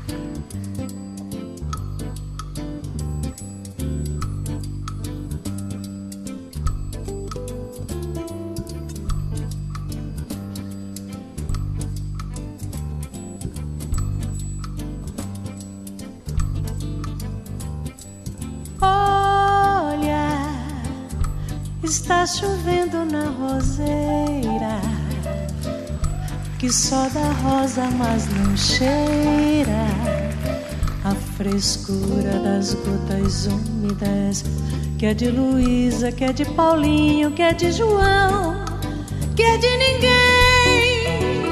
Está chovendo na roseira, que só dá rosa, mas não cheira a frescura das gotas úmidas, que é de Luísa, que é de Paulinho, que é de João, que é de ninguém.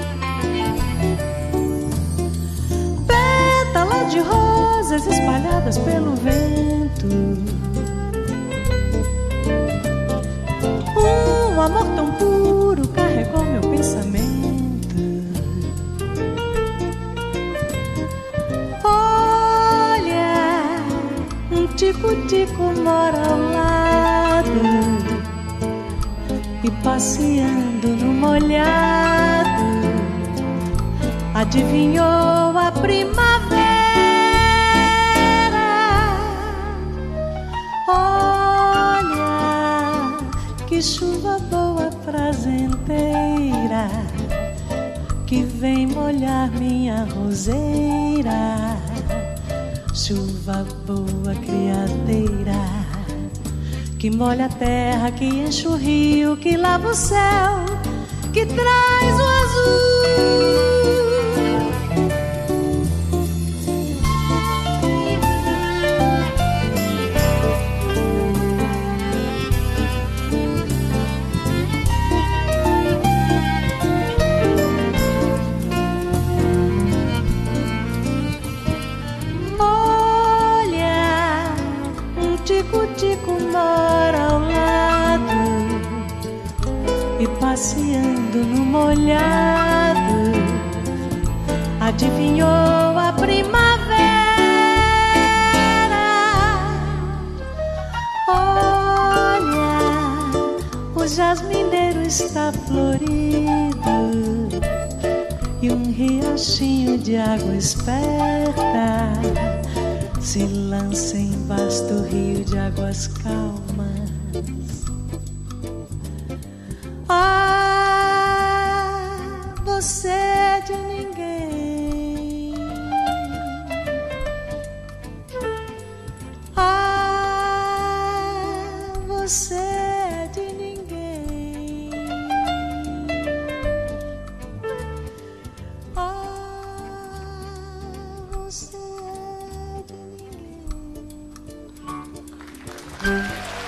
Pétalas de rosas espalhadas pelo vento, um amor tão puro carregou meu pensamento. Olha, um tico-tico mora ao lado e passeando no molhado adivinhou a primavera. Que chuva boa, prazenteira, que vem molhar minha roseira. Chuva boa, criadeira, que molha a terra, que enche o rio, que lava o céu, que traz o azul. Tico-tico mora ao lado e passeando no molhado adivinhou a primavera. Olha, o jasmineiro está florido e um riachinho de água esperta se lança em vasto rio de águas calmas. Ah, você é de ninguém. Ah, você é de ninguém. Ah, você é de ninguém.